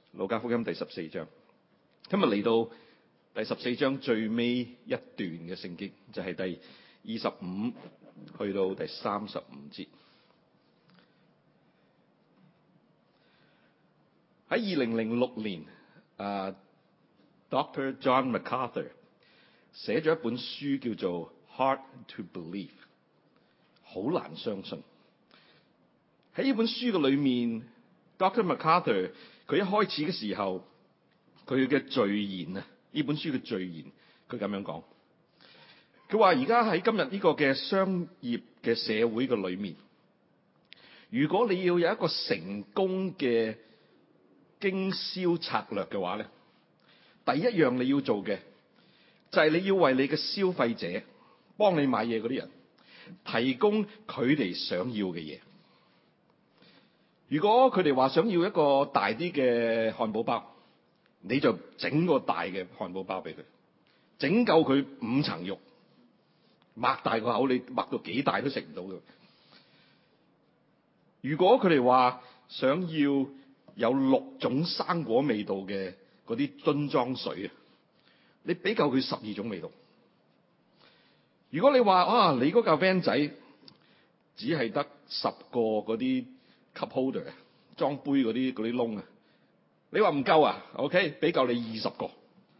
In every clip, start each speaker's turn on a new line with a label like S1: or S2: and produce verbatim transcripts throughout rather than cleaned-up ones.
S1: 路加福音第十四章，今日嚟到第十四章最尾一段嘅聖經，就係、是、第二十五去到第三十五節。喺二零零六年，啊 Doctor John MacArthur 寫咗一本書叫做《Hard to Believe》，好難相信。喺呢本書嘅裏面 ，Doctor MacArthur 佢一開始嘅時候，佢嘅序言啊，呢本書嘅序言，佢咁樣講。佢話而家喺今日呢個嘅商業嘅社會嘅裏面，如果你要有一個成功嘅經銷策略嘅話咧，第一樣你要做嘅就係你要為你嘅消費者，幫你買嘢嗰啲人，提供佢哋想要嘅嘢。如果佢哋話想要一個大啲嘅漢堡包，你就整個大嘅漢堡包俾佢，整夠佢五層肉，擘大個口，你擘到幾大都食唔到嘅。如果佢哋話想要有六種生果味道嘅嗰啲樽裝水啊，你俾夠佢十二種味道。如果你話啊，你嗰架 van 仔只係得十個嗰啲 cup holder 裝杯嗰啲嗰啲窿啊，你話唔夠啊 ？OK， 俾夠你二十個。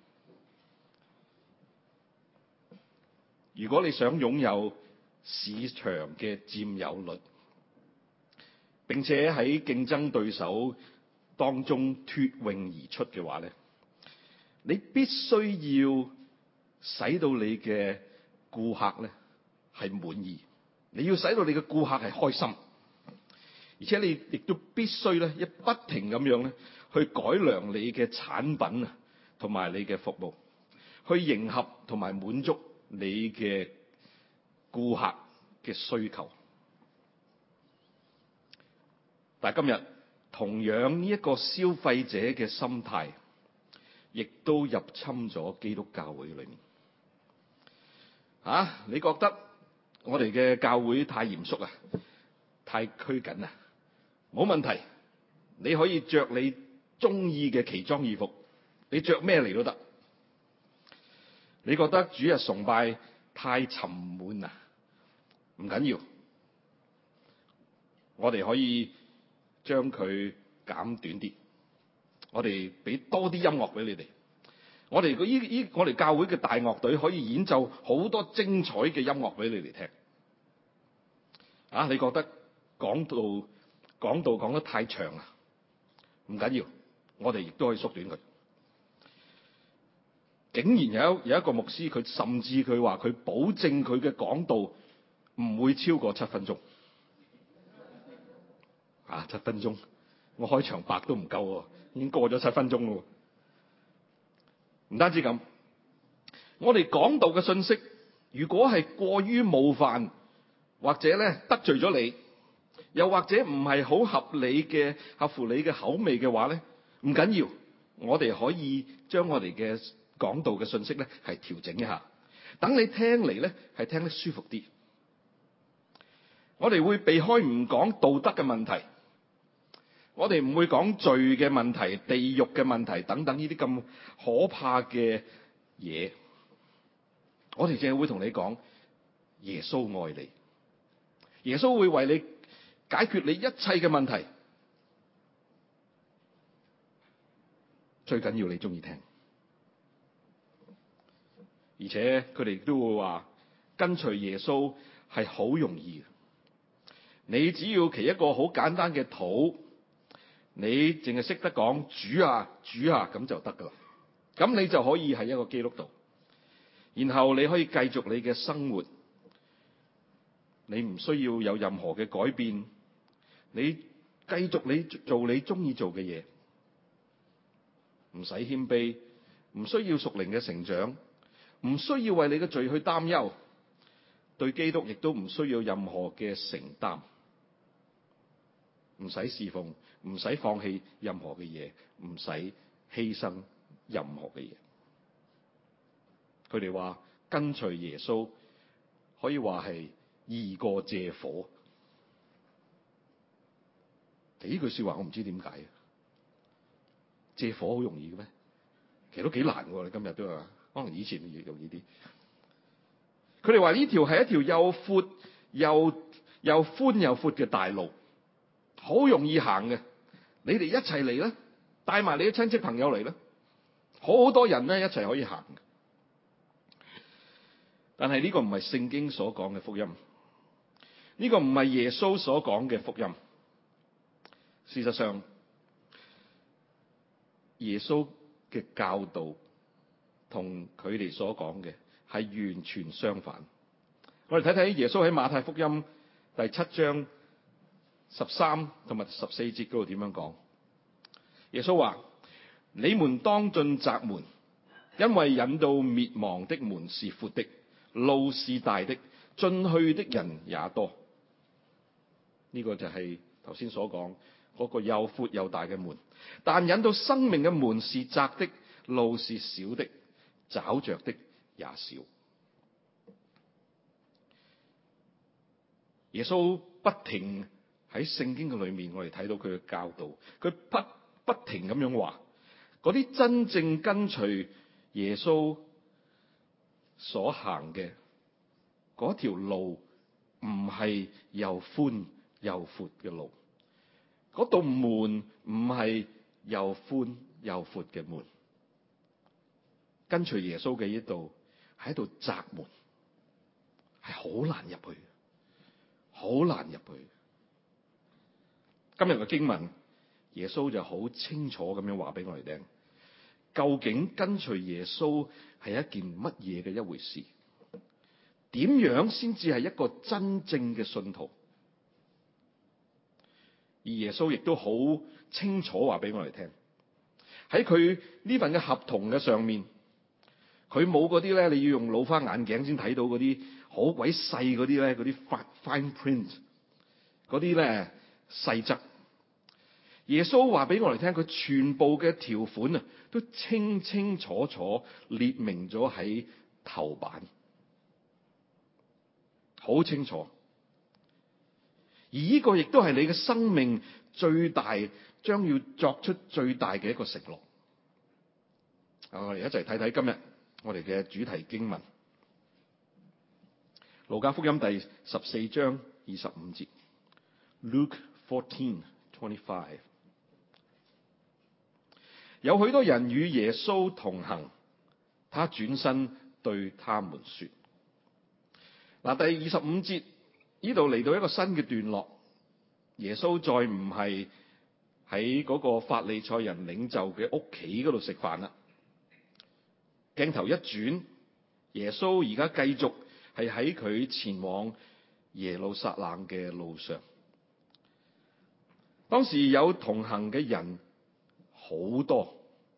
S1: 如果你想擁有市場嘅佔有率，並且喺競爭對手當中脫穎而出嘅話咧，你必須要使到你嘅顧客咧係滿意，你要使到你嘅顧客係開心，而且你亦都必須咧一不停咁樣咧去改良你嘅產品啊，同埋你嘅服務，去迎合同埋滿足你嘅顧客嘅需求。但係今日同樣呢一個消費者嘅心態，亦都入侵咗基督教會裏面。啊，你覺得我哋嘅教會太嚴肅啊，太拘謹啊？冇問題，你可以着你中意嘅奇裝異服，你着咩嚟都得。你覺得主日崇拜太沉悶啊？唔緊要，我哋可以將佢減短啲，我哋俾多啲音樂俾你哋。我哋依依我哋教會嘅大樂隊可以演奏好多精彩嘅音樂俾你哋聽。啊，你覺得講道講道講得太長啊？唔緊要，我哋亦都可以縮短佢。竟然有有一個牧師，佢甚至佢話佢保證佢嘅講道唔會超過七分鐘。啊，七分鐘，我開場白都唔夠喎，已經過咗七分鐘咯。唔單止咁，我哋講道嘅信息，如果係過於冒犯，或者咧得罪咗你，又或者唔係好合理嘅合乎你嘅口味嘅話咧，唔緊要，我哋可以將我哋嘅講道嘅信息咧係調整一下，等你聽嚟咧係聽得舒服啲。我哋會避開唔講道德嘅問題，我哋唔會講罪嘅問題、地獄嘅問題等等呢啲咁可怕嘅嘢。我哋淨係會同你講耶穌愛你，耶穌會為你解決你一切嘅問題。最緊要你中意聽，而且佢哋都會話跟隨耶穌係好容易。你只要祈一個好簡單嘅禱，你淨係識得講主啊主啊咁就得噶啦，咁你就可以係一個基督徒，然後你可以繼續你嘅生活，你唔需要有任何嘅改變，你繼續你做你中意做嘅嘢，唔使謙卑，唔需要屬靈嘅成長，唔需要為你嘅罪去擔憂，對基督亦都唔需要任何嘅承擔。唔使侍奉，唔使放棄任何嘅嘢，唔使犧牲任何嘅嘢。佢哋話跟隨耶穌可以話係易過借火。呢句說話我唔知點解， 借火好容易嘅咩？其實都幾難喎，你今日都係，可能以前容易啲。佢哋話呢條係一條又闊又又寬又闊嘅大路，好容易行嘅。你哋一齊嚟啦，帶埋你啲親戚朋友嚟啦，好多人咧一齊可以行。但係呢個唔係聖經所講嘅福音，呢個唔係耶穌所講嘅福音。事實上，耶穌嘅教導同佢哋所講嘅係完全相反。我哋睇睇耶穌喺馬太福音第七章十三同埋十四節嗰度點樣講。耶穌話：你們當進窄門，因為引到滅亡的門是闊的，路是大的，進去的人也多。呢、這個就係頭先所講嗰個又闊又大嘅門，但引到生命嘅門是窄的，路是小的，找着的也少。耶穌不停喺聖經嘅裏面，我哋睇到佢嘅教導，佢不不停咁樣話，嗰啲真正跟隨耶穌所行嘅嗰條路，唔係又寬又闊嘅路，嗰道門唔係又寬又闊嘅門。跟隨耶穌嘅呢度係一道窄門，係好難入去，好難入去。今日嘅經文，耶穌就好清楚咁樣話俾我哋聽，究竟跟隨耶穌係一件乜嘢嘅一回事？點樣先至係一個真正嘅信徒？而耶穌亦都好清楚話俾我哋聽，喺佢呢份嘅合同嘅上面，佢冇嗰啲咧，你要用老花眼鏡先睇到嗰啲好鬼細嗰啲咧，嗰啲 fine print 嗰啲咧細則。耶穌話俾我哋聽，佢全部嘅條款啊，都清清楚楚列明咗喺頭版，好清楚。而呢個亦都係你嘅生命最大，將要作出最大嘅一個承諾。啊，我哋一齊睇睇今日我哋嘅主題經文，路加福音第十四章二十五節 ，Luke fourteen twenty-five。有許多人與耶穌同行，他轉身對他們說：嗱，第二十五節呢度嚟到一個新嘅段落，耶穌再唔係喺嗰個法利賽人領袖嘅屋企嗰度食飯啦。鏡頭一轉，耶穌而家繼續係喺佢前往耶路撒冷嘅路上。當時有同行嘅人好多，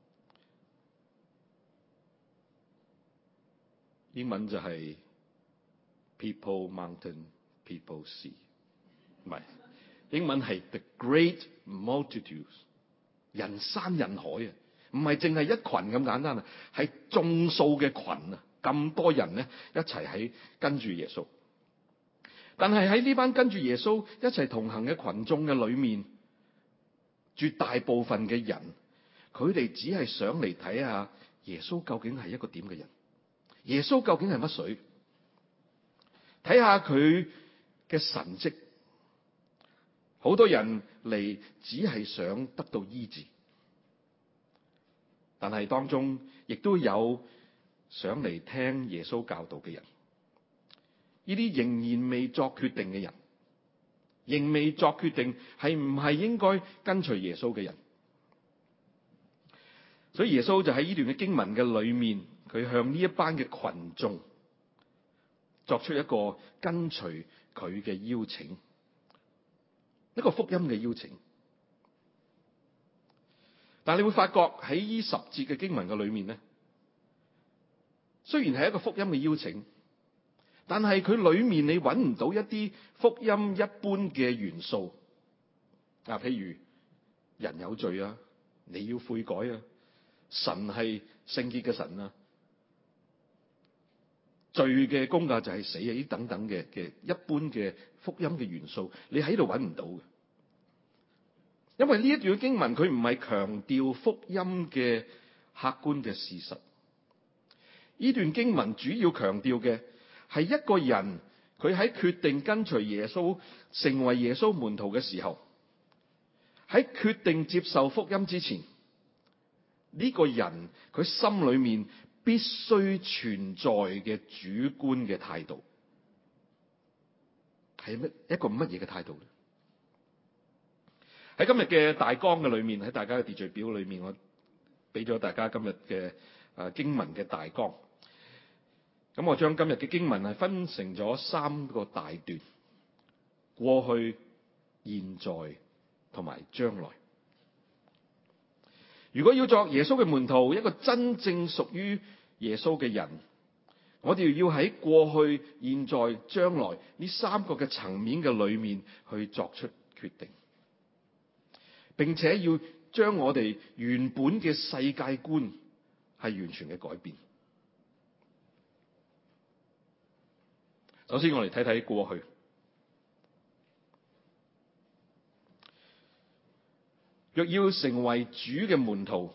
S1: 英文就係 people mountain people sea， 唔係，英文係 the great multitudes， 人山人海啊，唔係淨係一群咁簡單啊，係眾數嘅群啊，咁多人咧一齊喺跟住耶穌。但係喺呢班跟住耶穌一齊同行嘅群眾嘅裏面，絕大部分嘅人，佢哋只係想嚟睇下耶穌究竟係一個點嘅人，耶穌究竟係乜水，睇下佢嘅神蹟。好多人嚟只係想得到醫治，但係當中亦都有想嚟聽耶穌教導嘅人。呢啲仍然未作決定嘅人，仍未作決定係唔係應該跟隨耶穌嘅人。所以耶穌就喺呢段嘅經文嘅裏面，佢向呢一班嘅群眾作出一個跟隨佢嘅邀請，一個福音嘅邀請。但係你會發覺喺呢十節嘅經文嘅裏面咧，雖然係一個福音嘅邀請，但係佢裏面你揾唔到一啲福音一般嘅元素。啊，譬如人有罪啊，你要悔改啊，神係聖潔嘅神啊，罪嘅工價就係死啊，呢等等嘅嘅一般嘅福音嘅元素，你喺度揾唔到嘅。 因為呢一段經文佢唔係強調福音嘅客觀嘅事實，呢段經文主要強調嘅係一個人佢喺決定跟隨耶穌成為耶穌門徒嘅時候，喺決定接受福音之前，呢個人佢心裏面必須存在嘅主觀嘅態度係乜一個乜嘢嘅態度咧？喺今日嘅大綱嘅裏面，喺大家嘅秩序表裏面，我俾咗大家今日嘅誒經文嘅大綱。咁我將今日嘅經文係分成咗三個大段：過去、現在同埋將來。如果要作耶穌嘅門徒，一個真正屬於耶穌嘅人，我哋要喺過去、現在、將來呢三個嘅層面嘅裏面去作出決定，並且要將我哋原本嘅世界觀係完全嘅改變。首先，我哋睇睇過去。若要成為主嘅門徒，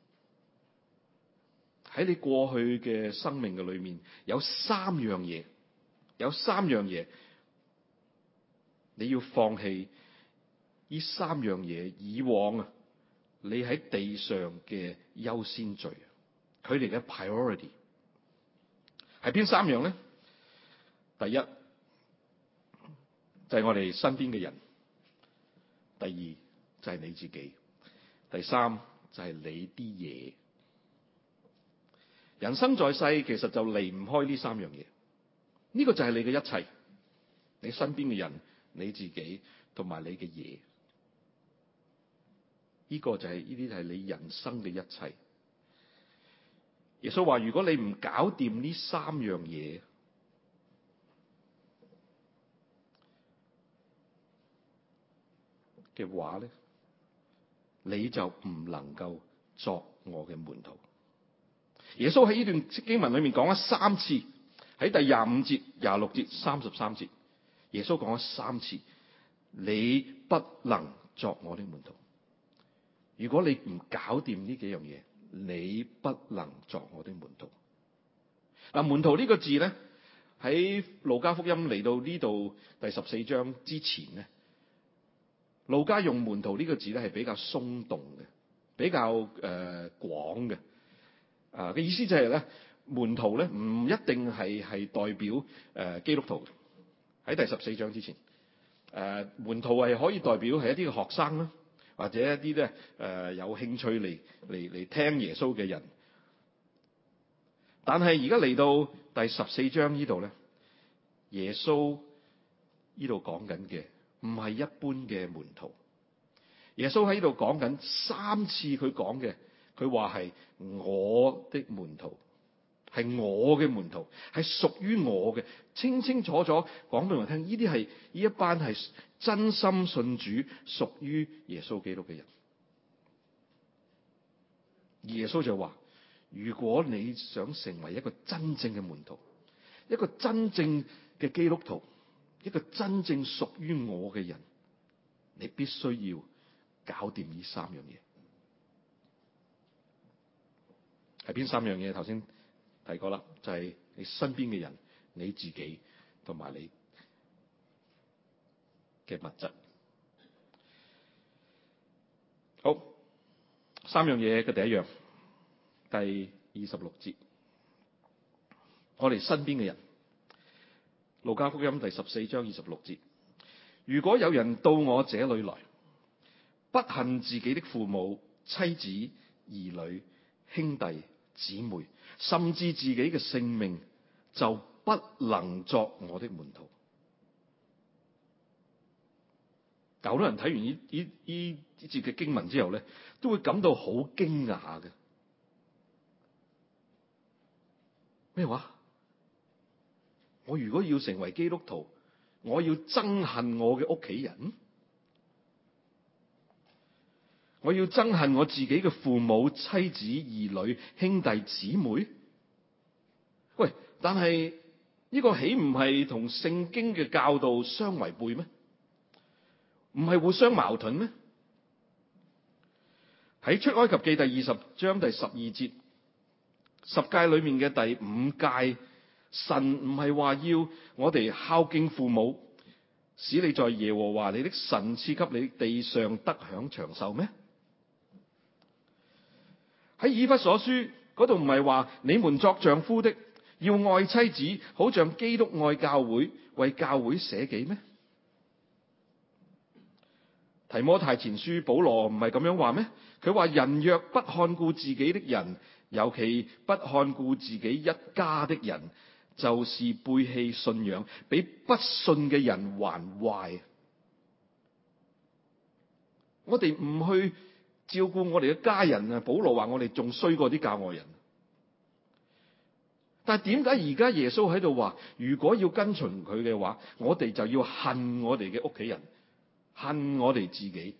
S1: 喺你過去嘅生命嘅裏面，有三樣嘢，有三樣嘢，你要放棄呢三樣嘢以往啊，你喺地上嘅優先序，佢哋嘅 priority 係邊三樣咧？第一就係我哋身邊嘅人，第二就係你自己，第三就係你啲嘢。人生在世，其實就離唔開呢三樣嘢。呢個就係你嘅一切，你身邊嘅人、你自己同埋你嘅嘢。呢個就係呢啲係你人生嘅一切。耶穌話：如果你唔搞掂呢三樣嘢嘅話咧，你就唔能夠作我嘅門徒。耶穌喺呢段經文裏面講咗三次，喺第廿五節、廿六節、三十三節，耶穌講咗三次，你不能作我的門徒。如果你唔搞掂呢幾樣嘢，你不能作我的門徒。嗱，門徒呢個字咧，喺路加福音嚟到呢度第十四章之前咧，路加用門徒呢個字咧係比較鬆動嘅，比較誒廣嘅。啊嘅意思就係咧，門徒咧唔一定係係代表誒、呃、基督徒。喺第十四章之前，誒、呃、門徒係可以代表係一啲嘅學生啦，或者一啲咧誒有興趣嚟嚟嚟聽耶穌嘅人。但係而家嚟到第十四章呢度咧，耶穌呢度講緊嘅唔係一般嘅門徒。耶穌喺呢度講緊三次，佢講嘅。佢話係我的門徒，係我嘅門徒，係屬於我嘅，清清楚楚講俾我聽。呢啲係呢一班係真心信主、屬於耶穌基督嘅人。而耶穌就話：如果你想成為一個真正嘅門徒，一個真正嘅基督徒，一個真正屬於我嘅人，你必須要搞掂呢三樣嘢。係邊三樣嘢？頭先提過啦，就係你身邊嘅人、你自己同埋你嘅物質。好，三樣嘢嘅第一樣，第二十六節，我哋身邊嘅人，路加福音第十四章二十六節，如果有人到我這裏來，不恨自己的父母、妻子、兒女、兄弟、姊妹，甚至自己嘅性命，就不能作我的門徒。好多人睇完呢呢呢呢節嘅經文之後咧，都會感到好驚訝嘅。咩話？我如果要成為基督徒，我要憎恨我嘅屋企人？我要憎恨我自己嘅父母、妻子、兒女、兄弟、姊妹？喂，但係呢個豈唔係同聖經嘅教導相違背咩？唔係互相矛盾咩？ 喺出埃及記第二十章第十二節，十誡裏面嘅第五誡，神唔係話要我哋孝敬父母，使你在耶和華你的神賜給你地上得享長壽咩？喺以弗所書嗰度唔係話你們作丈夫的要愛妻子，好像基督愛教會，為教會捨己咩？提摩太前書保羅唔係咁樣話咩？佢話人若不看顧自己的人，尤其不看顧自己一家的人，就是背棄信仰，比不信嘅人還壞。我哋唔去照顧我哋嘅家人啊，保羅話我哋仲衰過啲教外人。但係點解而家耶穌喺度話，如果要跟隨佢嘅話，我哋就要恨我哋嘅屋企人，恨我哋自己？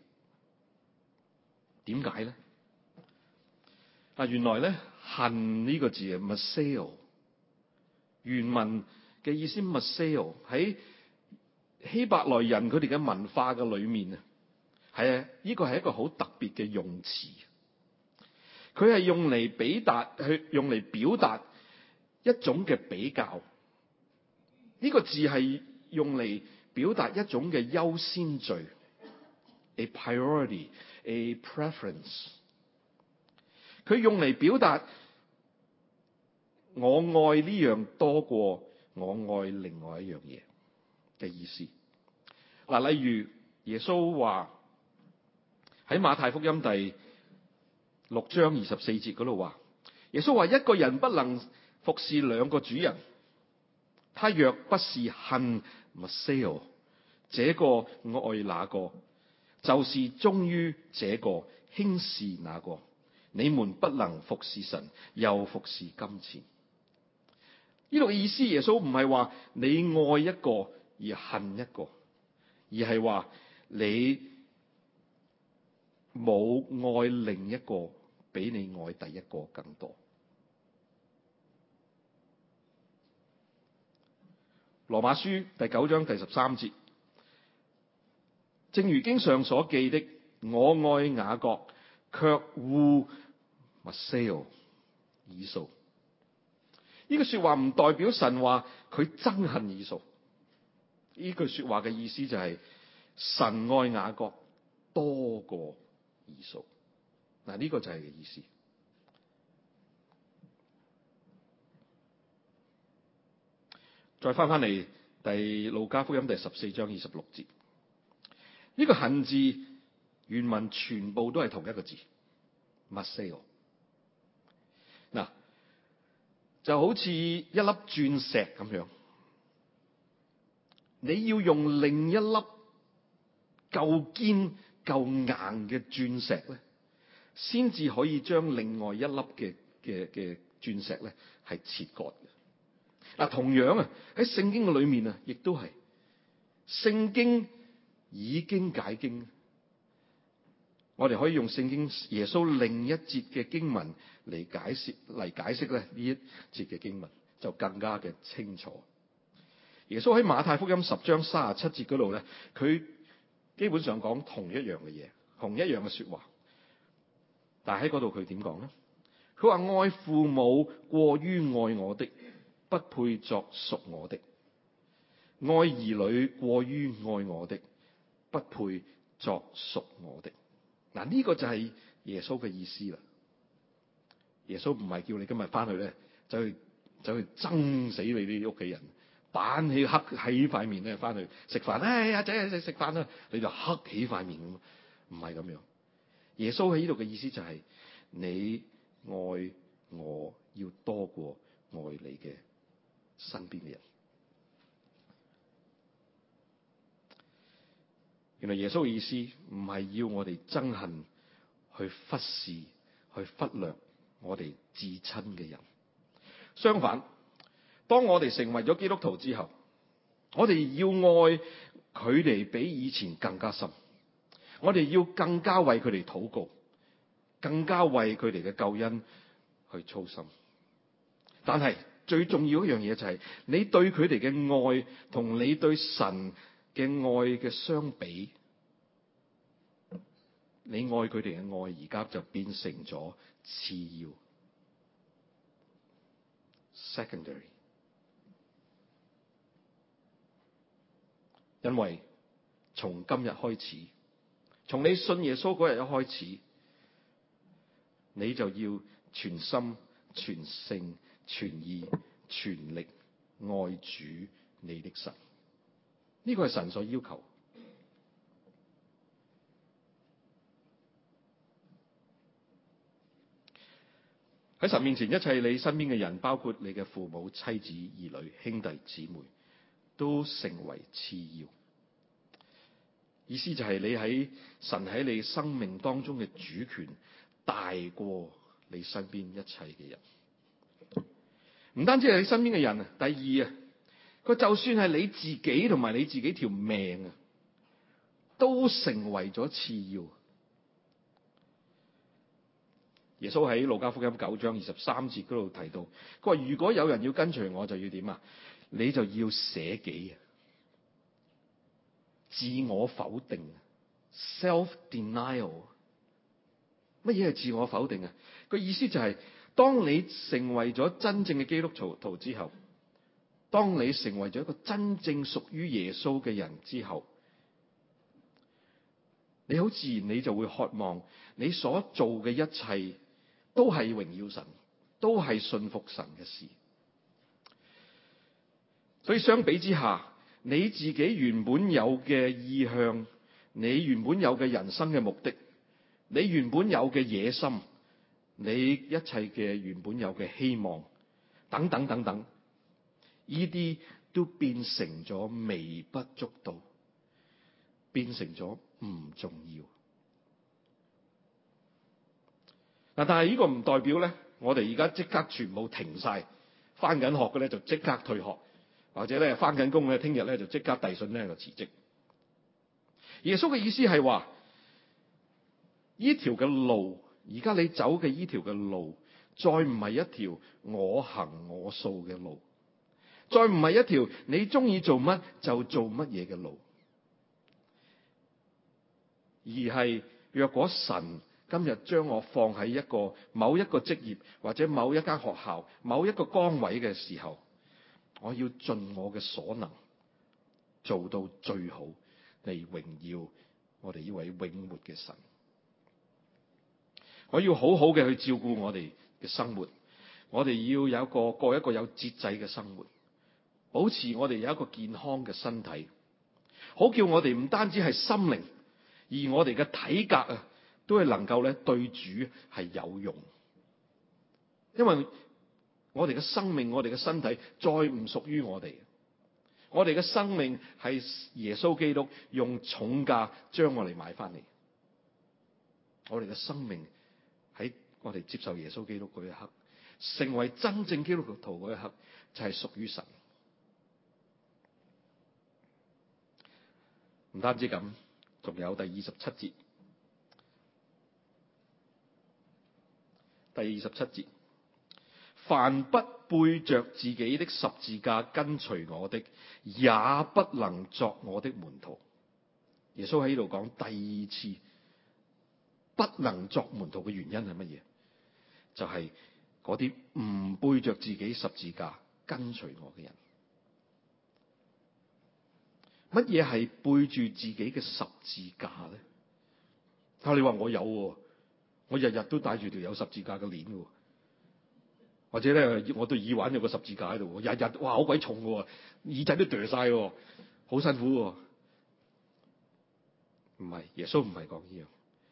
S1: 點解咧？啊，原來咧恨呢個字係 Maseo， 原文嘅意思 Maseo 喺希伯來人佢哋嘅文化嘅裏面啊，係啊，呢個係一個好特別嘅用詞，佢係用嚟表達，去用嚟表達一種嘅比較。呢個字係用嚟表達一種嘅優先序 ，a priority, a preference。佢用嚟表達我愛呢樣多過我愛另外一樣嘢嘅意思。嗱，例如耶穌話喺馬太福音第六章二十四節嗰度話，耶穌話一個人不能服侍兩個主人，他若不是恨 Maseo， 這個愛那個，就是忠於這個輕視那個。你們不能服侍神又服侍金錢。呢度嘅意思，耶穌唔係話你愛一個而恨一個，而係話你冇愛另一個比你愛第一個更多。羅馬書第九章第十三節，正如經上所記的，我愛雅各，卻惡 Maseo 以掃。呢句說話唔代表神話佢憎恨以掃。呢句說話嘅意思就係、是、神愛雅各多過以掃。嗱，呢個就係嘅意思。再翻翻嚟第路加福音第十四章二十六節，呢個恨字原文全部都係同一個字 Maseo。嗱，就好似一粒鑽石咁樣，你要用另一粒夠堅夠硬嘅鑽石咧，先至可以將另外一粒嘅嘅嘅鑽石咧係切割嘅。嗱，同樣啊，喺聖經嘅裏面啊，亦都係聖經以經解經。我哋可以用聖經耶穌另一節嘅經文嚟解釋嚟解釋咧呢一節嘅經文，就更加嘅清楚。耶穌喺馬太福音十章三十七節嗰度咧，佢基本上講同一樣嘅嘢，同一樣嘅說話。但係喺嗰度佢點講咧？佢話愛父母過於愛我的，不配作屬我的；愛兒女過於愛我的，不配作屬我的。嗱，呢個就係耶穌嘅意思啦。耶穌唔係叫你今日翻去咧，走去走去憎死你啲屋企人，板起黑起塊面咧，翻去食飯。哎，阿仔阿仔食飯啦，你就黑起塊面咁，唔係咁樣。耶穌喺呢度嘅意思就係、是、你愛我要多過愛你嘅身邊嘅人。原來耶穌嘅意思唔係要我哋憎恨，去忽視，去忽略我哋至親嘅人。相反，當我哋成為咗基督徒之後，我哋要愛佢哋比以前更加深。我哋要更加為佢哋禱告，更加為佢哋嘅救恩去操心。但係最重要一樣嘢就係、是、你對佢哋嘅愛同你對神嘅愛嘅相比，呢你愛佢哋嘅愛而家就變成咗次要 （secondary）。因為從今日開始，從你信耶穌嗰日一開始，你就要全心、全性、全意、全力愛主你的神。呢個係神所要求。喺神面前，一切你身邊嘅人，包括你嘅父母、妻子、兒女、兄弟姊妹，都成為次要。意思就係你喺神喺你生命當中嘅主權大過你身邊一切嘅人。唔單止係你身邊嘅人啊，第二啊，佢就算係你自己同埋你自己條命啊，都成為咗次要。耶穌喺路加福音九章二十三節嗰度提到，佢話如果有人要跟隨我，就要點啊？你就要捨己啊，自我否定 self denial。 乜嘢係自我否定啊？個意思就係、是、當你成為咗真正嘅基督徒之後，當你成為咗一個真正屬於耶穌嘅人之後，你好自然你就會渴望你所做嘅一切都係榮耀神，都係信服神嘅事。所以相比之下，你自己原本有嘅意向，你原本有嘅人生嘅目的，你原本有嘅野心，你一切嘅原本有嘅希望，等等等等，呢啲都變成咗微不足道，變成咗唔重要。嗱，但係呢個唔代表咧，我哋而家即刻全部停晒，翻緊學嘅咧就即刻退學，或者咧翻緊工咧，聽日咧就即刻遞信咧就辭職。耶穌嘅意思係話，呢條嘅路，而家你走嘅呢條嘅路，再唔係一條我行我素嘅路，再唔係一條你中意做乜就做乜嘢嘅路，而係若果神今日將我放喺一個某一個職業或者某一間學校某一個崗位嘅時候，我要盡我嘅所能做到最好嚟榮耀我哋呢位永活嘅神。我要好好嘅去照顧我哋嘅生活，我哋要有一個過一個有節制嘅生活，保持我哋有一個健康嘅身體，好叫我哋唔單止係心靈，而我哋嘅體格啊都係能夠咧對主係有用。因為我哋嘅生命，我哋嘅身體再唔屬於我哋，我哋嘅生命係耶穌基督用重價將我哋買翻嚟。我哋嘅生命喺我哋接受耶穌基督嗰一刻，成為真正基督徒嗰一刻，就係屬於神。唔單止咁，仲有第二十七節。第二十七節，凡不背着自己的十字架跟隨我的，也不能作我的門徒。耶穌喺呢度講第二次不能作門徒嘅原因係乜嘢？就係嗰啲唔背着自己十字架跟隨我嘅人。乜嘢係背住自己嘅十字架咧？啊，你話我有喎，我日日都帶住條有十字架嘅鏈嘅，或者咧我對耳環有個十字架喺度，日日哇好鬼重嘅，耳仔都剁晒，好辛苦喎。唔係，耶穌唔係講呢樣。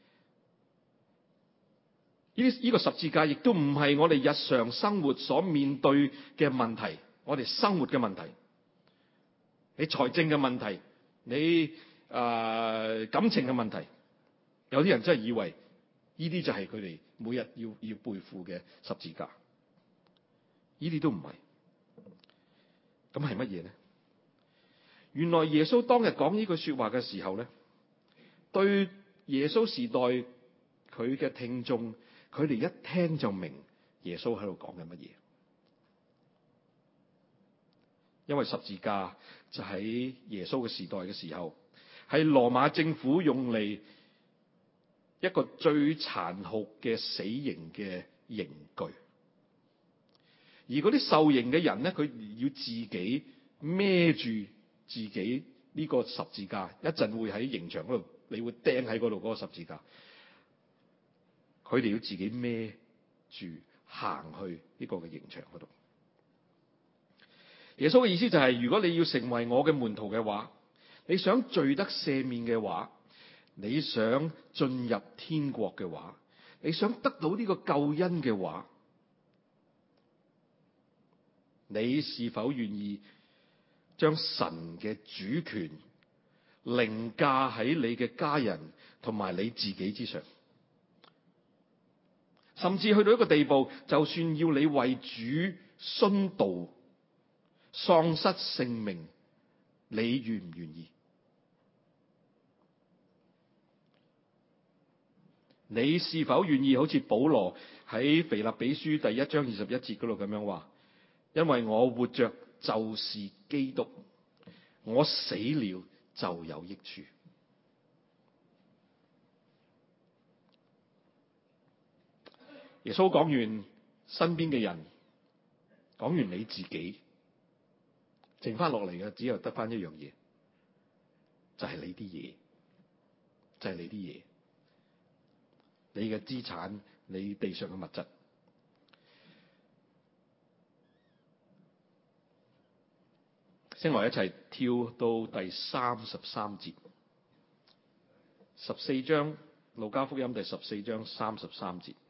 S1: 呢呢個十字架亦都唔係我哋日常生活所面對嘅問題，我哋生活嘅問題，你財政嘅問題，你誒、呃、感情嘅問題，有啲人真係以為呢啲就係佢哋每日要要背負嘅十字架，呢啲都唔係。咁係乜嘢咧？原來耶穌當日講呢句說話嘅時候咧，對耶穌時代佢嘅聽眾，佢哋一聽就明耶穌喺度講緊乜嘢。因為十字架就喺耶穌嘅時代嘅時候，係羅馬政府用嚟一個最殘酷嘅死刑嘅刑具。而嗰啲受刑嘅人咧，佢要自己孭住自己呢個十字架，一陣會喺刑場嗰度，你會釘喺嗰度嗰個十字架。佢哋要自己孭住行去呢個嘅刑場嗰度。耶穌嘅意思就係，如果你要成為我嘅門徒嘅話，你想罪得赦免嘅話，你想進入天國嘅話，你想得到呢個救恩嘅話，你是否願意將神嘅主權凌駕喺你嘅家人同埋你自己之上？甚至去到一個地步，就算要你為主殉道、喪失性命，你願唔願意？你是否願意好似保羅喺腓立比書第一章二十一節嗰度咁樣話，因為我活着就是基督，我死了就有益處。耶穌講完身邊嘅人，講完你自己，剩翻落嚟嘅只有得翻一樣嘢，就係你啲嘢，就係你啲嘢，你嘅資產，你地上嘅物質。先來一齊跳到第三十三節，十四章路加福音第十四章三十三節。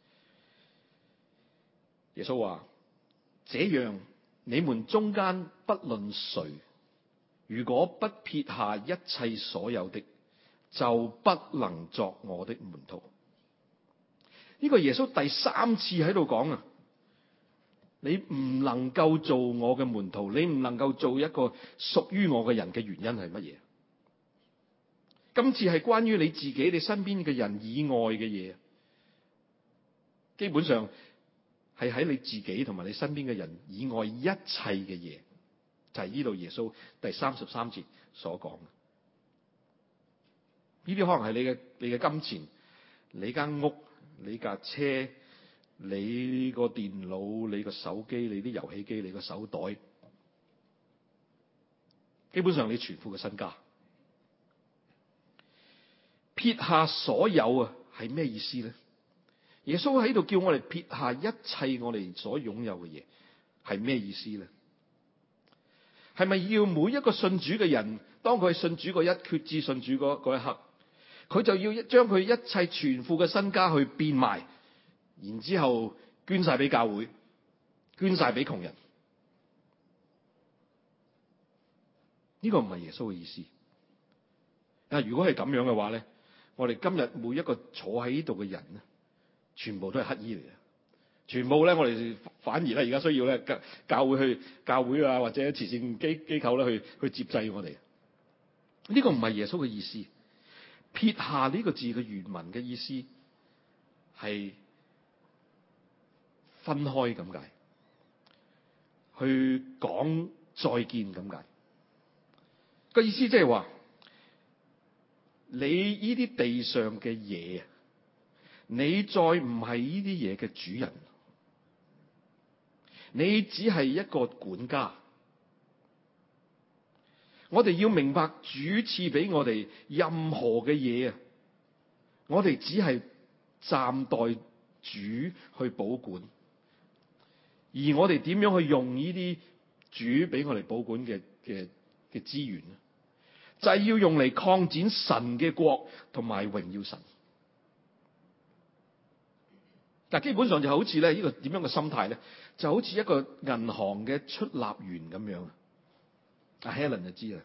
S1: 耶穌話：這樣你們中間不論誰，如果不撇下一切所有的，就不能作我的門徒。呢個耶穌第三次喺度講啊，你唔能夠做我嘅門徒，你唔能夠做一個屬於我嘅人嘅原因係乜嘢？今次係關於你自己、你身邊嘅人以外嘅嘢，基本上係喺你自己同埋你身邊嘅人以外一切嘅嘢，就係呢度耶穌第三十三節所講。呢啲可能係你嘅你嘅金錢、你間屋、你架車、你個電腦、你個手機、你啲遊戲機、你個手袋，基本上你全副嘅身家。撇下所有啊，係咩意思咧？耶穌喺度叫我哋撇下一切我哋所擁有嘅嘢，係咩意思咧？係咪要每一個信主嘅人，當佢信主嗰一決志信主嗰嗰一刻，佢就要將佢一切全副嘅身家去變賣，然之後捐晒俾教會，捐晒俾窮人？呢個唔係耶穌嘅意思。啊，如果係咁樣嘅話咧，我哋今日每一個坐喺呢度嘅人咧，全部都係乞兒嚟嘅，全部咧我哋反而咧而家需要咧教教會去教會啊或者慈善機機構咧去去接濟我哋。呢個唔係耶穌嘅意思。撇下呢個字嘅原文嘅意思係分開咁解，去講再見咁解。個意思即係話，你呢啲地上嘅嘢，你再唔係呢啲嘢嘅主人，你只係一個管家。我哋要明白，主賜俾我哋任何嘅嘢啊，我哋只係暫代主去保管，而我哋點樣去用呢啲主俾我哋保管嘅嘅嘅資源咧，就係要用嚟擴展神嘅國同埋榮耀神。嗱，基本上就好似咧呢個點樣嘅心態咧，就好似一個銀行嘅出納員咁樣。阿 Helen 就知啦，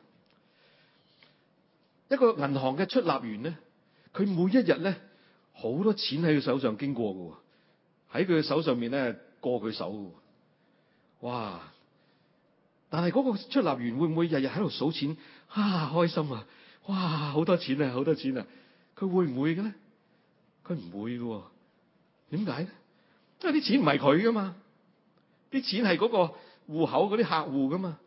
S1: 一個銀行嘅出納員咧，佢每一日咧好多錢喺佢手上經過嘅，喺佢嘅手上面咧過佢手嘅，哇！但係嗰個出納員會唔會日日喺度數錢啊？開心啊！哇，好多錢啊，好多錢啊！佢會唔會嘅咧？佢唔會嘅，點解咧？因為啲錢唔係佢噶嘛，啲錢係嗰個戶口嗰啲客戶噶嘛。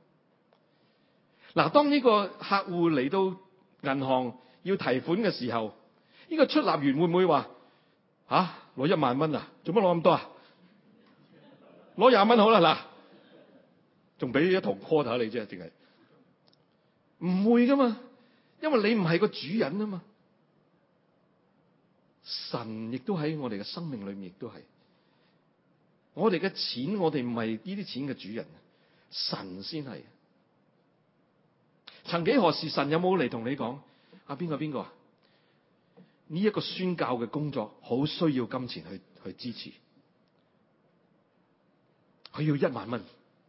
S1: 嗱，當呢個客戶嚟到銀行要提款嘅時候， 呢個出納員會唔會話吓攞一萬蚊啊？做乜攞咁多啊？攞廿蚊好啦，嗱，仲俾一堂 quarter 你啫，淨係唔會噶嘛，因為你唔係個主人啊嘛。神亦都喺我哋嘅生命裏面，亦都係我哋嘅錢，我哋唔係呢啲錢嘅主人，神先係。曾幾何時，神有冇嚟同你講啊？邊個邊個啊？呢一個宣教嘅工作好需要金錢去去支持，佢要一萬蚊，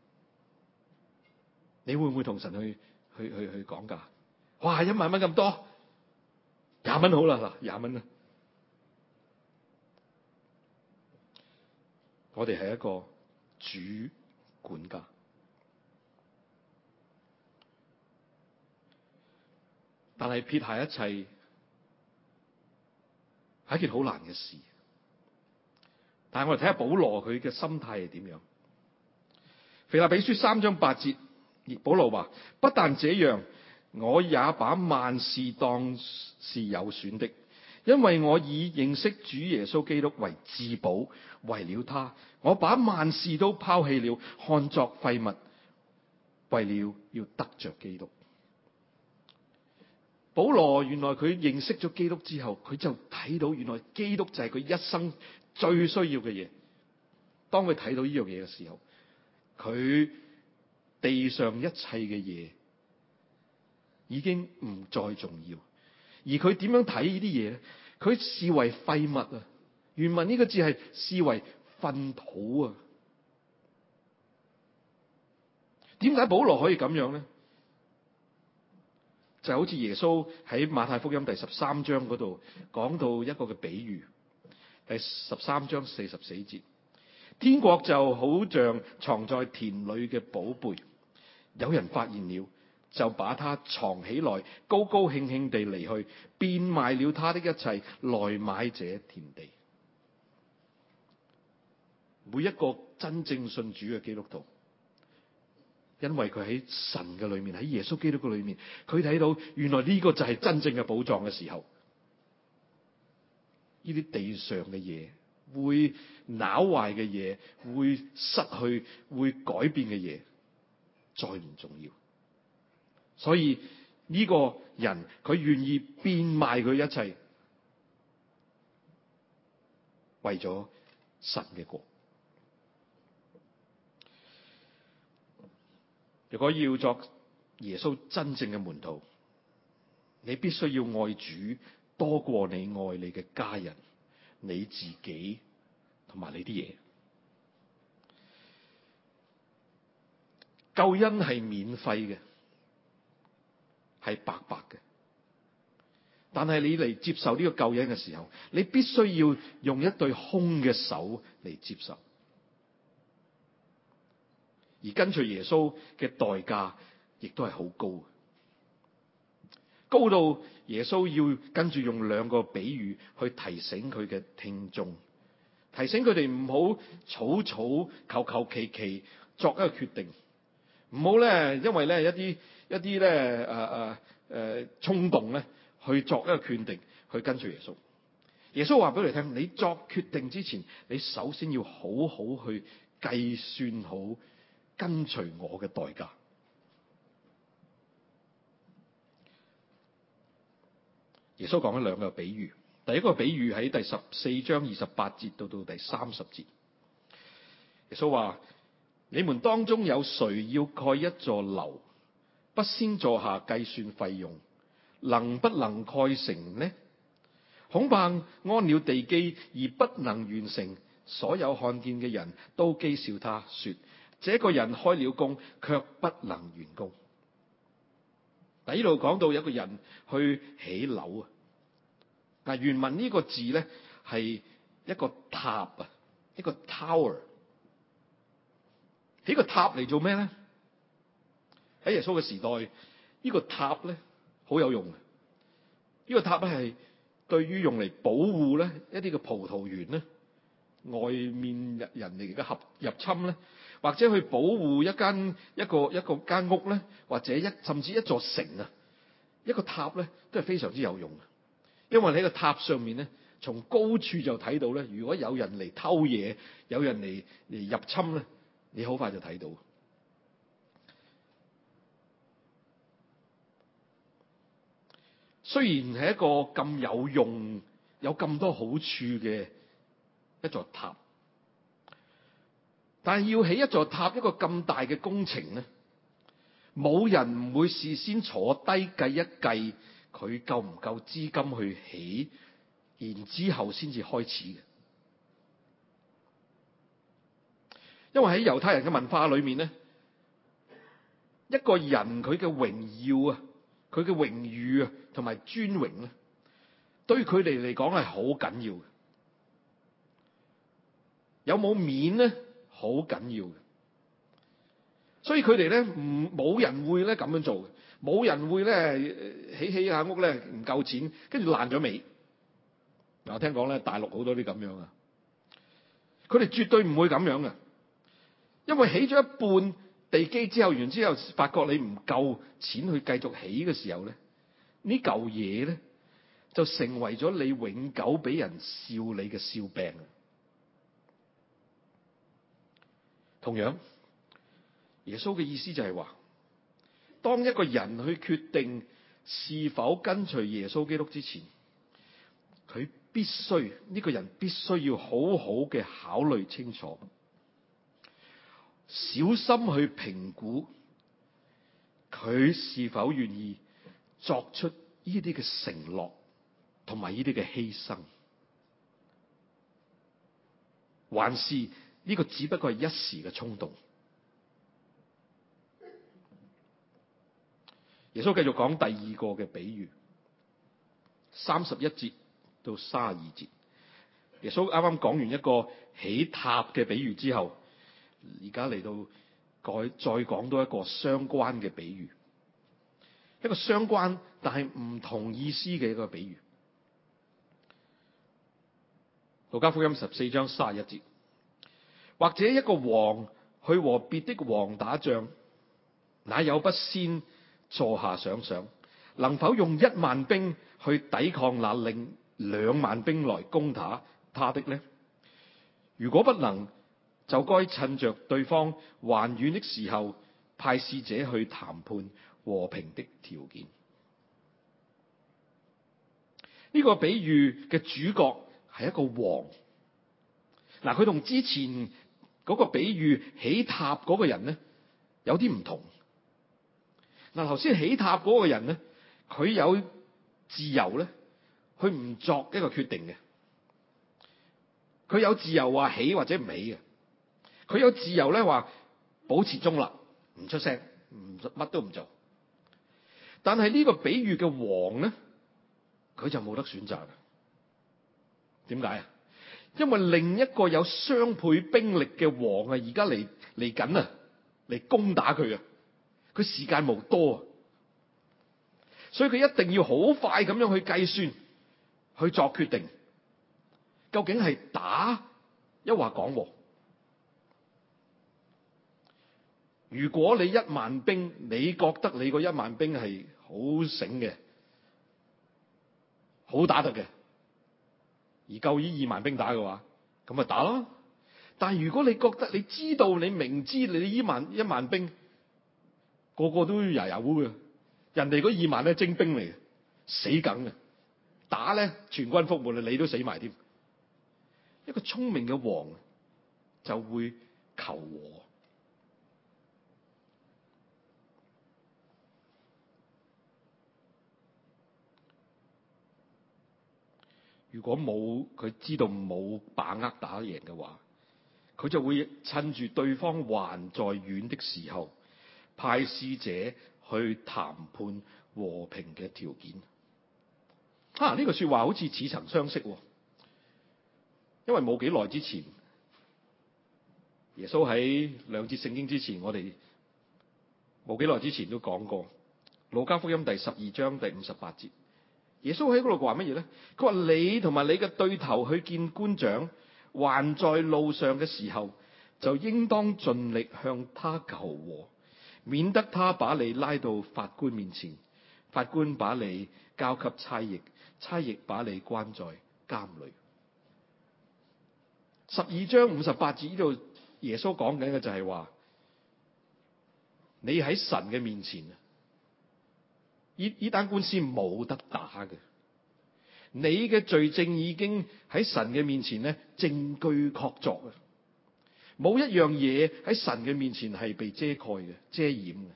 S1: 你會唔會同神去去去去講價？哇，一萬蚊咁多，廿蚊好啦，嗱，廿蚊啦。我哋係一個主管家，但係撇下一切係一件好難嘅事。但係我哋睇下保羅佢嘅心態係點樣。腓立比書三章八節，保羅話：不但這樣，我也把萬事當是有損的，因為我以認識主耶穌基督為至寶。為了他，我把萬事都拋棄了，看作廢物，為了要得着基督。保羅原來佢認識咗基督之後，佢就睇到原來基督就係佢一生最需要嘅嘢。當佢睇到呢樣嘢嘅時候，佢地上一切嘅嘢已經唔再重要。而佢點樣睇呢啲嘢咧？佢視為廢物啊！原文呢個字係視為糞土啊！點解保羅可以咁樣咧？就好似耶穌喺馬太福音第十三章嗰度講到一個嘅比喻，第十三章四十四節，天國就好像藏在田裏嘅寶貝，有人發現了，就把它藏起來，高高興興地離去，變賣了他的一切，來買這田地。每一個真正信主嘅基督徒，因為佢喺神嘅裏面，喺耶穌基督嘅裏面，佢睇到原來呢個就係真正嘅寶藏嘅時候，呢啲地上嘅嘢，會朽壞嘅嘢，會失去、會改變嘅嘢，再唔重要。所以呢個人佢願意變賣佢一切，為咗神嘅國。如果要作耶穌真正嘅門徒，你必須要愛主多過你愛你嘅家人、你自己同埋你啲嘢。救恩係免費嘅，係白白嘅。但係你嚟接受呢個救恩嘅時候，你必須要用一對空嘅手嚟接受。而跟隨耶穌嘅代價亦都係好高，高到耶穌要跟住用兩個比喻去提醒佢嘅聽眾，提醒佢哋唔好草草求求其其作一個決定，唔好咧因為咧一啲一啲咧誒誒誒衝動咧去作一個決定去跟隨耶穌。耶穌話俾你聽，你作決定之前，你首先要好好去計算好跟隨我嘅代價。耶穌講咗兩個比喻，第一個比喻喺第十四章二十八節到到第三十節。耶穌話：你們當中有誰要蓋一座樓，不先坐下計算費用，能不能蓋成呢？恐怕安了地基而不能完成，所有看見嘅人都譏笑他，說：這個人開了工，卻不能完工。嗱，呢度講到有一個人去起樓啊。嗱，原文呢個字咧係一個塔啊，一個 tower。起個塔嚟做咩咧？喺耶穌嘅時代，呢個塔咧好有用嘅。呢個塔咧係對於用嚟保護咧一啲嘅葡萄園咧，外面人嚟嘅合入侵咧，或者去保護一間一個一個間屋咧，或者一甚至一座城啊，一個塔咧都係非常之有用嘅。 因為喺個塔上面咧，從高處就睇到咧，如果有人嚟偷嘢，有人嚟嚟入侵咧，你好快就睇到。雖然係一個咁有用、有咁多好處嘅一座塔，但係要起一座塔，一個咁大嘅工程咧，冇人唔會事先坐低計一計佢夠唔夠資金去起，然之後先至開始嘅。因為喺猶太人嘅文化裏面咧，一個人佢嘅榮耀啊，佢嘅榮譽啊，同埋尊榮咧，對佢哋嚟講係好緊要嘅。有冇面咧，好緊要嘅。所以佢哋咧唔冇人會咧咁樣做嘅，冇人會咧起起下屋咧唔夠錢，跟住爛咗尾。嗱，我聽講咧大陸好多啲咁樣啊，佢哋絕對唔會咁樣嘅，因為起咗一半地基之後，完之後發覺你唔夠錢去繼續起嘅時候咧，呢嚿嘢咧就成為咗你永久俾人笑你嘅笑柄。同樣，耶穌嘅意思就係話，當一個人去決定是否跟隨耶穌基督之前，佢必須呢個人必須要好好嘅考慮清楚，小心去評估佢是否願意作出呢啲嘅承諾同埋呢啲嘅犧牲，還是呢個只不過係一時嘅衝動。耶穌繼續講第二個嘅比喻，三十一節到三十二節。耶穌啱啱講完一個起塔嘅比喻之後，而家嚟到改再講多一個相關嘅比喻，一個相關但係唔同意思嘅一個比喻。路加福音十四章三十一節，或者一個王去和別的王打仗，哪有不先坐下想想，能否用一萬兵去抵抗那另兩萬兵來攻打他的呢？如果不能，就該趁着對方還遠的時候，派使者去談判和平的條件。呢個比喻嘅主角係一個王。嗱，佢同之前嗰個比喻起塔嗰個人咧有啲唔同。嗱，頭先起塔嗰個人咧，佢有自由咧，佢唔作一個決定嘅。佢有自由話起或者唔起嘅。佢有自由咧話保持中立，唔出聲，唔乜都唔做。但係呢個比喻嘅王咧，佢就冇得選擇啦。點解啊？因為另一個有雙倍兵力嘅王啊，而家嚟嚟緊啊，嚟攻打佢啊！佢時間無多啊，所以佢一定要好快咁樣去計算，去作決定，究竟係打抑或講和。如果你一萬兵，你覺得你個一萬兵係好醒嘅，好打得嘅，而夠呢二萬兵打嘅話，咁咪打咯。但係如果你覺得你知道你明知你呢萬一萬兵個個都牙牙烏嘅，人哋嗰二萬咧精兵嚟嘅，死梗嘅，打咧全軍覆沒，你都死埋添。一個聰明嘅王就會求和。如果冇佢知道冇把握打贏嘅話，佢就會趁住對方還在遠的時候，派使者去談判和平嘅條件。啊，呢句說話好似似曾相識，因為冇幾耐之前，耶穌喺兩節聖經之前，我哋冇幾耐之前都講過，路加福音第十二章第五十八節。耶穌喺嗰度話乜嘢咧？佢話你同埋你嘅對頭去見官長，還在路上嘅時候，就應當盡力向他求和，免得他把你拉到法官面前，法官把你交給差役，
S2: 差役把你關在監裏。十二章五十八節呢度，耶穌講緊嘅就係話，你喺神嘅面前，呢呢單官司冇得打嘅。你嘅罪證已經喺神嘅面前咧，證據確鑿啊！冇一樣嘢喺神嘅面前係被遮蓋嘅、遮掩嘅。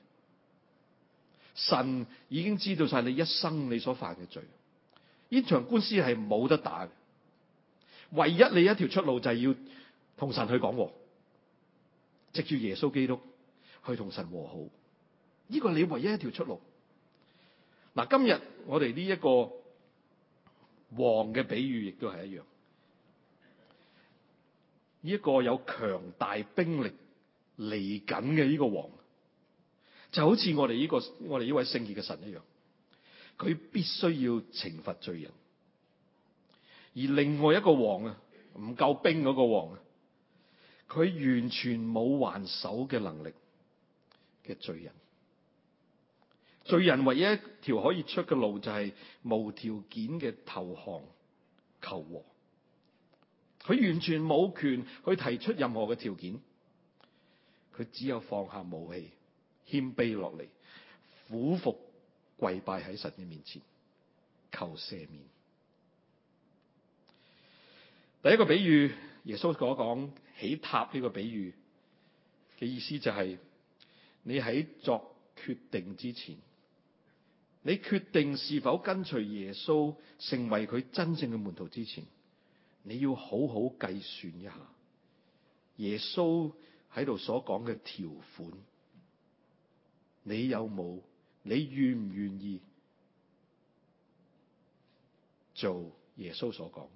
S2: 神已經知道晒你一生你所犯嘅罪，呢場官司係冇得打嘅。唯一你一條出路就係要同神去講和，藉住耶穌基督去同神和好。呢個係你唯一一條出路。嗱，今日我哋呢一個王嘅比喻亦都係一樣。呢一個有強大兵力嚟緊嘅呢個王，就好似我哋呢個我哋呢位聖潔嘅神一樣，佢必須要懲罰罪人。而另外一個王啊，唔夠兵嗰個王啊，佢完全冇還手嘅能力嘅罪人。罪人唯一一條可以出嘅路就係無條件嘅投降求和。佢完全冇權去提出任何嘅條件，佢只有放下武器，謙卑落嚟，俯伏跪拜喺神嘅面前，求赦免。第一個比喻，耶穌所講起塔呢個比喻嘅意思就係，你喺作決定之前，你決定是否跟隨耶穌成為佢真正嘅門徒之前，你要好好計算一下耶穌喺度所講嘅條款，你有冇？你願唔願意做耶穌所講？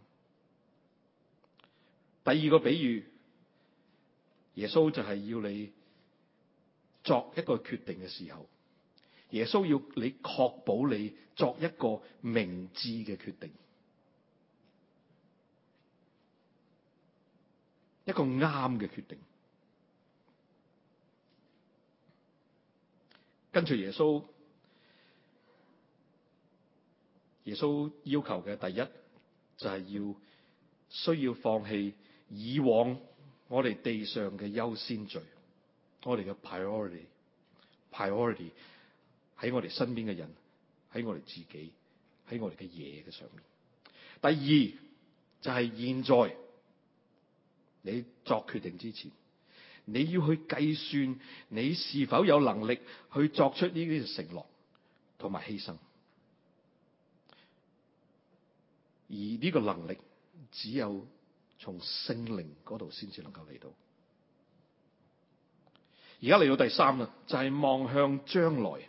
S2: 第二個比喻，耶穌就係要你作一個決定嘅時候，耶穌要你確保你作一個明智嘅決定，一個啱嘅決定。跟住耶穌，耶穌要求嘅第一就係要需要放棄以往我哋地上嘅優先序，我哋嘅 priority，priority 喺我哋身邊嘅人，喺我哋自己，喺我哋嘅嘢嘅上面。第二就係現在你作決定之前，你要去計算你是否有能力去作出呢啲承諾同埋犧牲，而呢個能力只有從聖靈嗰度先至能夠嚟到。而家嚟到第三啦，就係望向將來。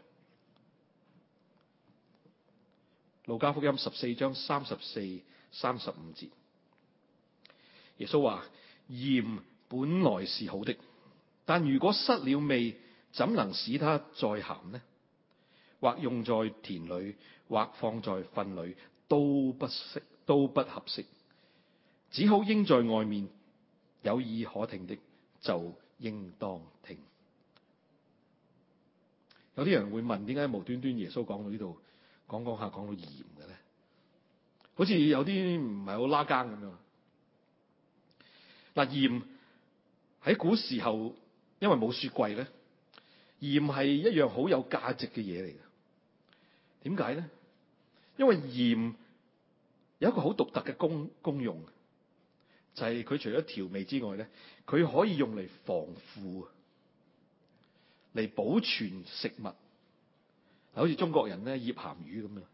S2: 路加福音十四章三十四、三十五節，耶穌話：鹽本來是好的，但如果失了味，怎能使它再鹹呢？或用在田裏，或放在糞裏，都不適，都不合適。只好扔在外面。有耳可聽的，就應當聽。有啲人會問，點解無端端耶穌講到呢度，講講下講到鹽嘅咧？好似有啲唔係好拉更咁樣。嗱，鹽喺古時候，因為冇雪櫃咧，鹽係一樣好有價值嘅嘢嚟嘅。點解咧？因為鹽有一個好獨特嘅功功用，就係佢除咗調味之外咧，佢可以用嚟防腐，嚟保存食物。好似中國人咧醃鹹魚咁樣。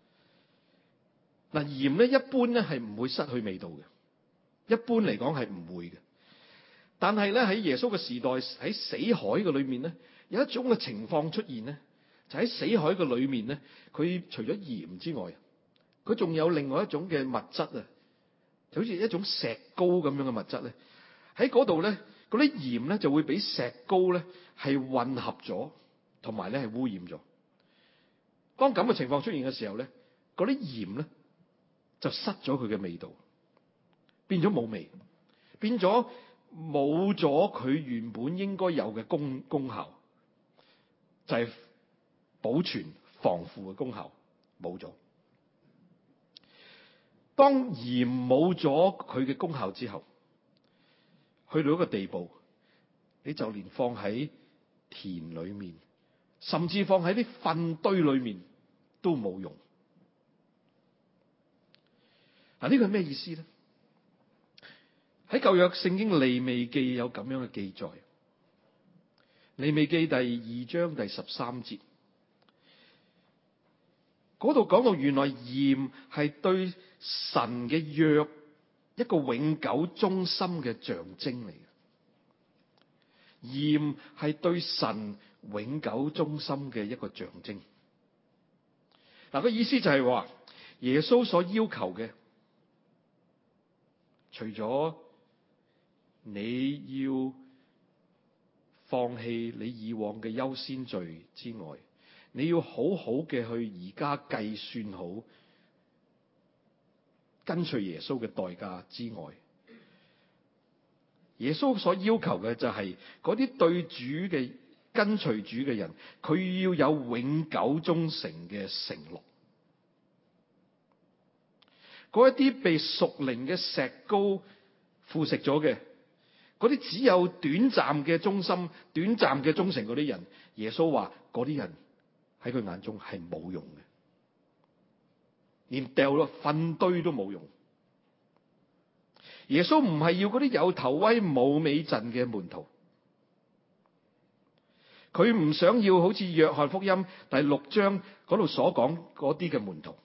S2: 嗱，鹽咧一般咧係唔會失去味道嘅，一般嚟講係唔會嘅。但係咧喺耶穌嘅時代，喺死海嘅裏面咧，有一種嘅情況出現咧，就喺死海嘅裏面咧，佢除咗鹽之外，佢仲有另外一種嘅物質啊，就好似一種石膏咁樣嘅物質咧，喺嗰度咧，嗰啲鹽咧就會俾石膏咧係混合咗，同埋咧係污染咗。當咁嘅情況出現嘅時候咧，嗰啲鹽咧就失咗佢嘅味道，變咗冇味，變咗冇咗佢原本應該有嘅功功效，就係保存防腐嘅功效冇咗。 當鹽冇咗佢嘅功效之後，去到一個地步，你就連放喺田裏面，甚至放喺啲糞堆裏面都冇用。嗱，呢個係咩意思咧？喺舊約聖經利未記有咁樣嘅記載，利未記第二章第十三節，嗰度講到原來鹽係對神嘅約一個永久忠心嘅象徵嚟嘅，鹽係對神永久忠心嘅一個象徵。嗱，個意思就係話，耶穌所要求嘅，除咗你要放棄你以往嘅優先罪之外，你要好好嘅去而家計算好跟隨耶穌嘅代價之外，耶穌所要求嘅就係嗰啲對主嘅跟隨主嘅人，佢要有永久忠誠嘅承諾。嗰一啲被屬靈嘅石膏腐蝕咗嘅，嗰啲只有短暫嘅忠心、短暫嘅忠誠嗰啲人，耶穌話嗰啲人喺佢眼中係冇用嘅，連掉落糞堆都冇用。耶穌唔係要嗰啲有頭威冇尾陣嘅門徒，佢唔想要好似約翰福音第六章嗰度所講嗰啲嘅門徒。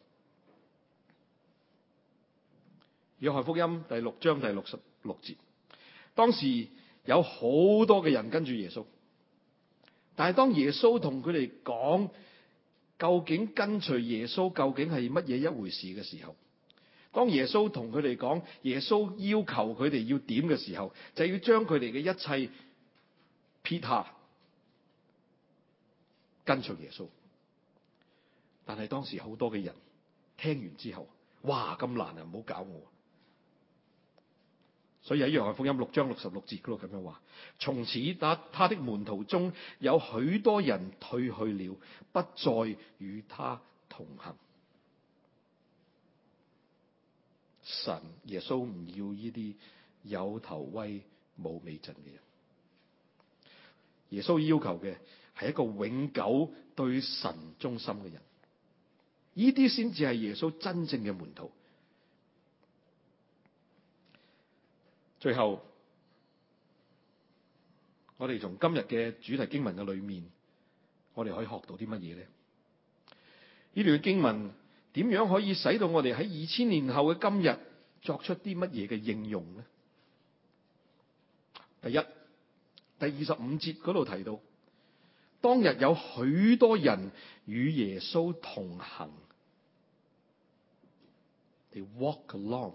S2: 約翰福音第六章第六十六節，當時有好多嘅人跟住耶穌，但係當耶穌同佢哋講究竟跟隨耶穌究竟係乜嘢一回事嘅時候，當耶穌同佢哋講耶穌要求佢哋要點嘅時候，就要將佢哋嘅一切撇下，跟隨耶穌。但係當時好多嘅人聽完之後，哇，咁難啊，唔好搞我。所以喺約翰福音六章六十六節嗰度咁樣話，從此他他的門徒中有許多人退去了，不再與他同行。神耶穌唔要呢啲有頭威冇尾陣嘅人，耶穌要求嘅係一個永久對神忠心嘅人，呢啲先至係耶穌真正嘅門徒。最後，我哋從今日嘅主題經文嘅裏面，我哋可以學到啲乜嘢咧？呢段經文點樣可以使到我哋喺二千年後嘅今日作出啲乜嘢嘅應用咧？第一，第二十五節嗰度提到，當日有許多人與耶穌同行。They walk along。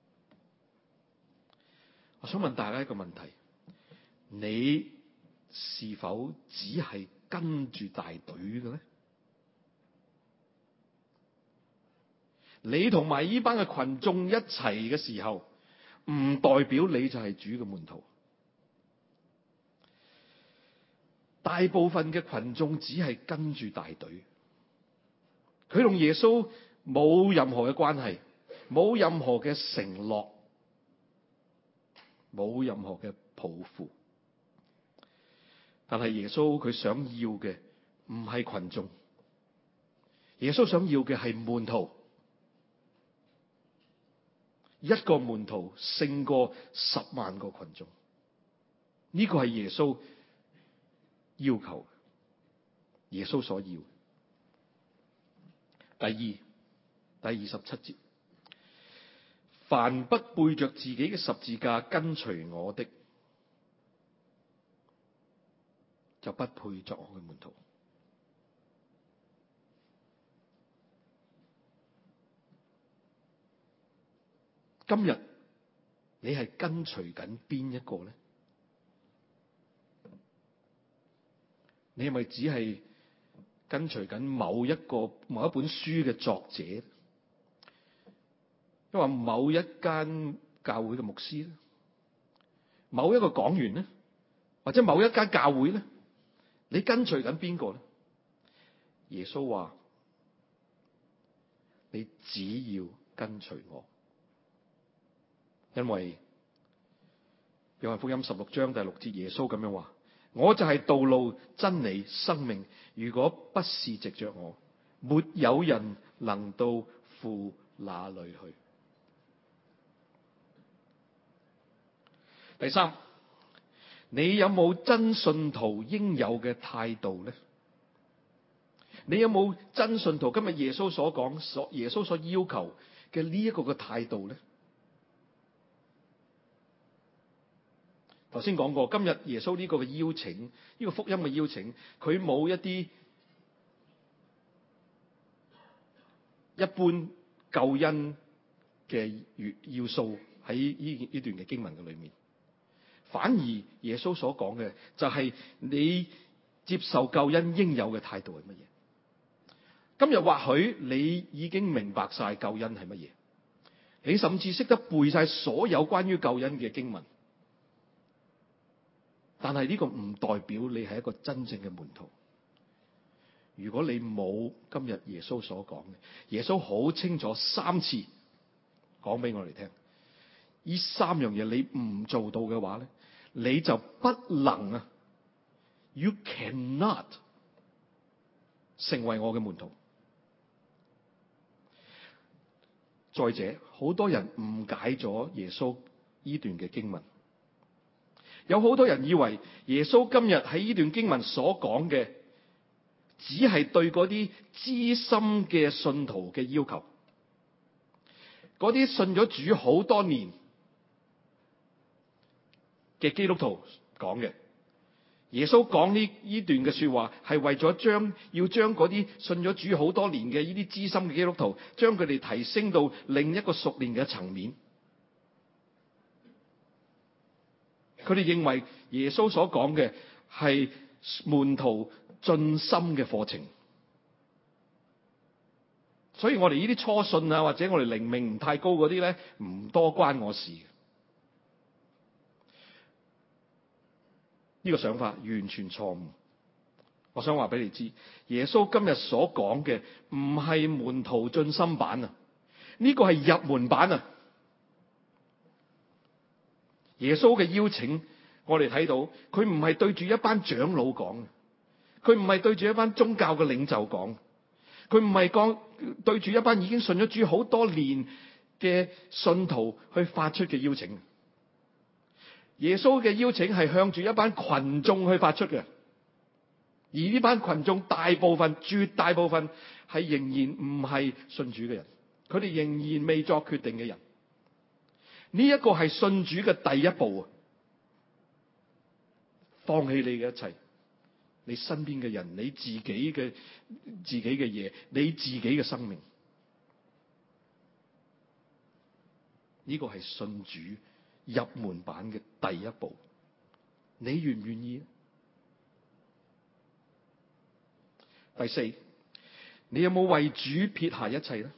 S2: 我想問大家一個問題：你是否只係跟住大隊嘅咧？你同埋呢班嘅群眾一齊嘅時候，唔代表你就係主嘅門徒。大部分嘅群眾只係跟住大隊，佢同耶穌冇任何嘅關係，冇任何嘅承諾，冇任何嘅抱負。但係耶穌佢想要嘅唔係群眾，耶穌想要嘅係門徒。一個門徒勝過十萬個群眾，呢個係耶穌要求，耶穌所要。第二，第二十七節，凡不背着自己嘅十字架跟隨我的，就不配作我嘅門徒。今日你係跟隨緊邊一個咧？你係咪只係跟隨緊某一個某一本書嘅作者，抑或某一間教會嘅牧師咧，某一個講員咧，或者某一間教會咧？你跟隨緊邊個咧？耶穌話：你只要跟隨我。 因為約翰福音十六章第六節，耶穌咁樣話：我就係道路、真理、生命，如果不是藉着我，沒有人能到父那裏去。第三，你有冇真信徒應有嘅態度呢？你有冇真信徒今日耶穌所講、所耶穌所要求嘅呢一個嘅態度呢？頭先講過，今日耶穌呢個嘅邀請，呢個福音嘅邀請，佢冇一啲一般救恩嘅要素喺呢呢段嘅經文嘅裏面，反而耶穌所講嘅就係你接受救恩應有嘅態度係乜嘢？今日或許你已經明白晒救恩係乜嘢，你甚至識得背晒所有關於救恩嘅經文，但係呢個唔代表你係一個真正嘅門徒。如果你冇今日耶穌所講嘅，耶穌好清楚三次講俾我哋聽，呢三樣嘢你唔做到嘅話咧，你就不能啊 ，you cannot 成為我嘅門徒。再者，好多人誤解咗耶穌呢段嘅經文，有好多人以為耶穌今日喺呢段經文所講嘅，只係對嗰啲資深嘅信徒嘅要求，嗰啲信咗主好多年嘅基督徒講嘅。耶穌講呢呢段嘅說話係為咗將要將嗰啲信咗主好多年嘅呢啲資深嘅基督徒，將佢哋提升到另一個屬靈嘅層面。佢哋認為耶穌所講嘅係門徒進深嘅課程，所以我哋呢啲初信啊，或者我哋靈命唔太高嗰啲咧，唔多關我事。呢個想法完全錯誤。我想話俾你知，耶穌今日所講嘅唔係門徒進深版啊，呢個係入門版啊。耶穌嘅邀請，我哋睇到佢唔係對住一班長老講，佢唔係對住一班宗教嘅領袖講，佢唔係講對住一班已經信咗主好多年嘅信徒去發出嘅邀請。耶穌嘅邀請係向住一班群眾去發出嘅，而呢班群眾大部分、絕大部分係仍然唔係信主嘅人，佢哋仍然未作決定嘅人。呢一個係信主嘅第一步啊！放棄你嘅一切，你身邊嘅人，你自己嘅自己嘅嘢，你自己嘅生命，呢個係信主入門版嘅第一步，你願唔願意？第四，你有冇為主撇下一切咧？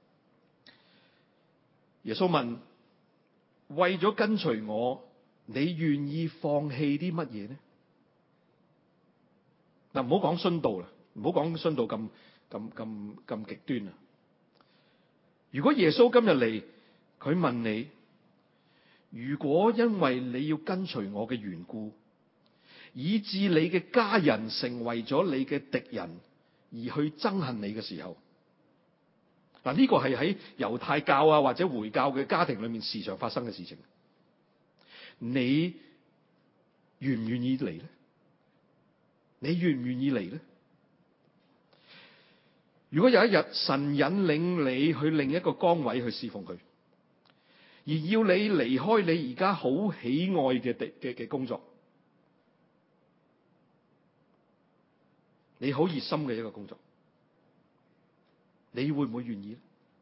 S2: 耶穌問：為咗跟隨我，你願意放棄啲乜嘢呢？嗱，唔好講殉道啦，唔好講殉道咁咁咁咁極端啊！如果耶穌今日嚟，佢問你，如果因為你要跟隨我嘅緣故，以致你嘅家人成為咗你嘅敵人，而去憎恨你嘅時候，嗱，呢個係喺猶太教啊或者回教嘅家庭裏面時常發生嘅事情。你願唔願意嚟咧？你願唔願意嚟咧？如果有一日神引領你去另一個崗位去侍奉佢，而要你離開你而家好喜愛嘅嘅嘅工作，你好熱心嘅一個工作，你會唔會願意咧？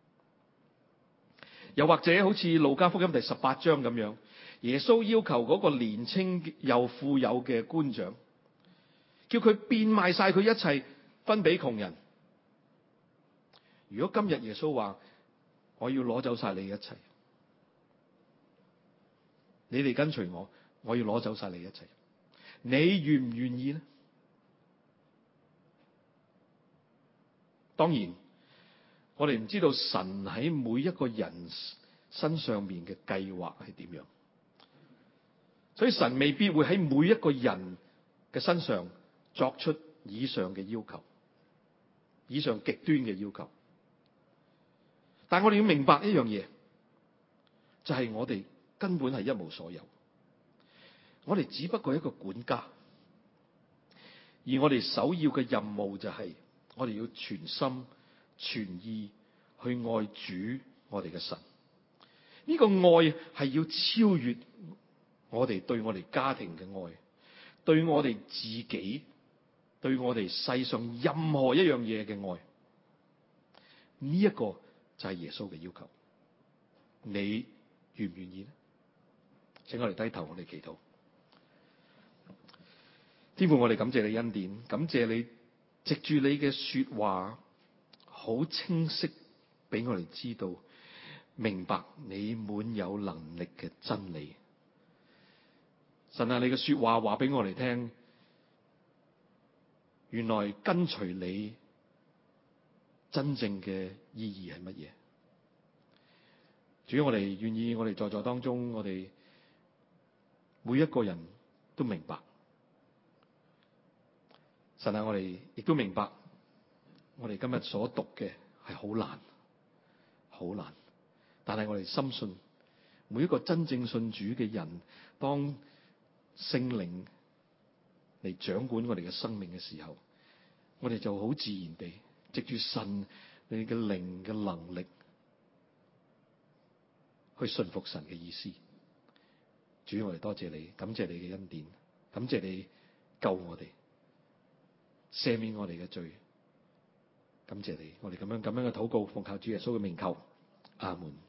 S2: 又或者好似路加福音第十八章咁樣，耶穌要求嗰個年青又富有嘅官長，叫佢變賣晒佢一切分俾窮人。如果今日耶穌話我要攞走晒你一切，你哋跟隨我，我要攞走晒你一切，你願唔願意呢？當然，我哋唔知道神喺每一個人身上面嘅計劃係點樣。所以神未必會喺每一個人嘅身上作出以上嘅要求，以上極端嘅要求。但我哋要明白一樣嘢，就係我哋根本係一無所有，我哋只不過係一個管家，而我哋首要嘅任務就係我哋要全心全意去愛主我哋嘅神。呢個愛係要超越我哋對我哋家庭嘅愛，對我哋自己，對我哋世上任何一樣嘢嘅愛。呢一個就係耶穌嘅要求。你願唔願意呢？請我哋低頭，我哋祈禱。天父，我哋感謝你恩典，感謝你藉住你嘅說話，好清晰俾我哋知道，明白你滿有能力嘅真理。神啊，你嘅說話話俾我哋聽，原來跟隨你真正嘅意義係乜嘢？主，我哋願意，我哋在座當中，我哋每一個人都明白。神啊，我哋亦都明白，我哋今日所讀嘅係好難，好難。但係我哋深信，每一個真正信主嘅人，當聖靈嚟掌管我哋嘅生命嘅時候，我哋就好自然地藉住神你嘅靈嘅能力，去順服神嘅意思。主，我哋多謝你，感謝你嘅恩典，感謝你救我哋，赦免我哋嘅罪。感謝你，我哋咁樣咁樣嘅禱告，奉靠主耶穌嘅名求，阿門。